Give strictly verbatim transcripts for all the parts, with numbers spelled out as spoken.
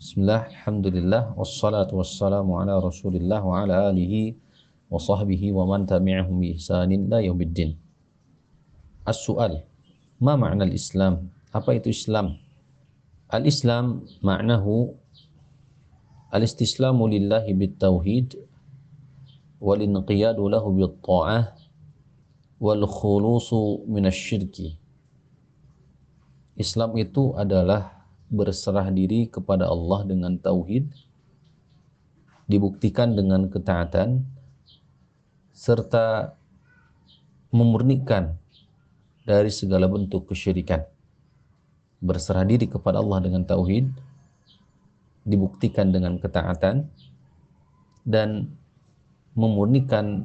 Bismillah, alhamdulillah, wassalatu wassalamu ala rasulillah wa ala alihi wa sahbihi wa man tabi'ahum bi ihsanin la yaumiddin. As-su'al, ma ma'na al-Islam? Apa itu Islam? Al-Islam ma'nahu al-istislamu lillahi bit-tauhid wal-inqiyadu lahu bit-ta'ah wal-khulusu minasyirki. Islam itu adalah berserah diri kepada Allah dengan tauhid, dibuktikan dengan ketaatan, serta memurnikan dari segala bentuk kesyirikan. Berserah diri kepada Allah dengan tauhid, dibuktikan dengan ketaatan, dan memurnikan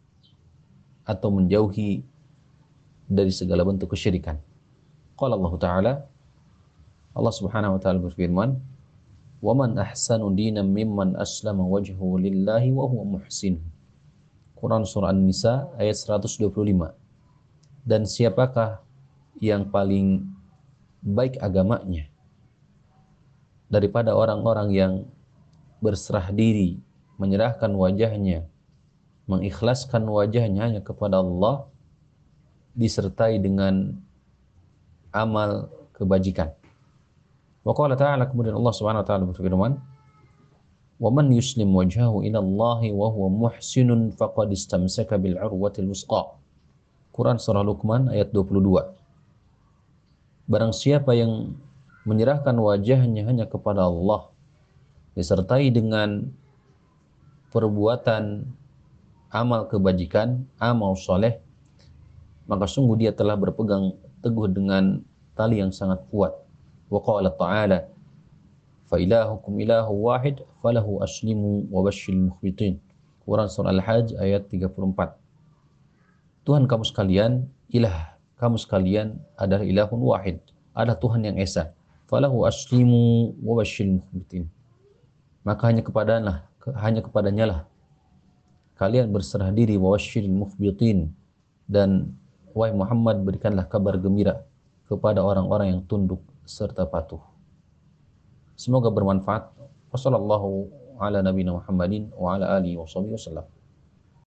atau menjauhi dari segala bentuk kesyirikan. Qala Allah Ta'ala, Allah Subhanahu wa taala berfirman, "Wa man ahsanu dinan mimman aslama wajhahu lillahi wa huwa muhsin." Quran surah An-Nisa ayat seratus dua puluh lima. Dan siapakah yang paling baik agamanya daripada orang-orang yang berserah diri, menyerahkan wajahnya, mengikhlaskan wajahnya hanya kepada Allah, disertai dengan amal kebajikan. Wa qala ta'ala, kemudian Allah Subhanahu wa taala berfirman, "Wa man yuslim wajhahu ila Allah wa huwa muhsinun faqad istamsaka bil 'urwatil wusqa." Quran surah Luqman ayat dua puluh dua. Barang siapa yang menyerahkan wajahnya hanya kepada Allah disertai dengan perbuatan amal kebajikan, amal soleh, maka sungguh dia telah berpegang teguh dengan tali yang sangat kuat. Wa qala ta'ala, fa ilahukum ilahu wahid falahu aslimu wa basyiril mukhbitin. Quran surah Al-Hajj ayat tiga puluh empat. Tuhan kamu sekalian, ilah kamu sekalian adalah ilahun wahid, adalah Tuhan yang esa. Falahu aslimu wa basyiril mukhbitin. Maka hanya kepadanya hanya kepadanya lah kalian berserah diri, wa basyiril mukhbitin, dan wahai Muhammad, berikanlah kabar gembira kepada orang-orang yang tunduk serta patuh. Semoga bermanfaat. Wassallallahu ala nabiyina Muhammadin wa ala alihi wasallam.